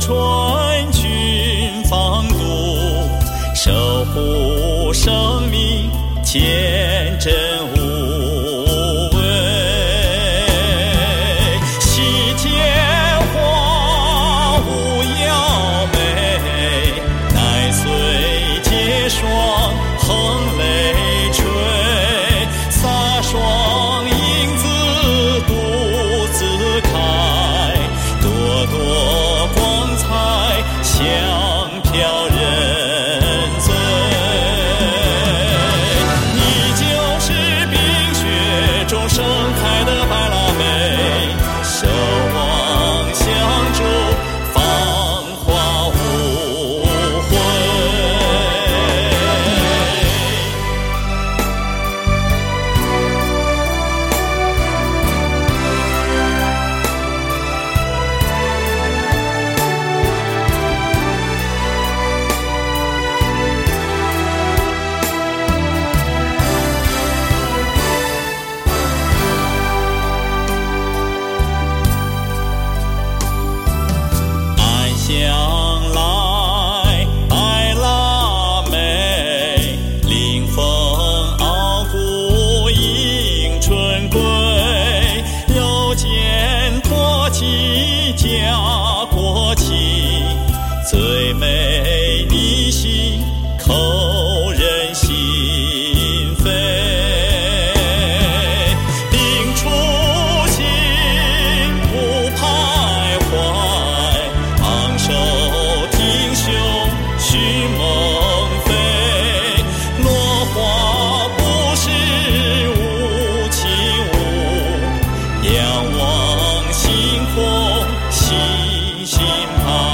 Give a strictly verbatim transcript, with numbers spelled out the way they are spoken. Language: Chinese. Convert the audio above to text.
川军防堵，守护生命天真无畏。西天花舞耀美，乃随结霜横雷吹，洒双影子独自开，朵朵光彩香飘人醉。你就是冰雪中盛开的白腊梅，守望相助，芳华无悔。向来白腊梅，临风傲骨迎春归。柔肩托起家国情，最美你心扣人心扉。定初心不徘徊，昂首挺胸许梦飞。落花不是无情物，仰望星空细心盼。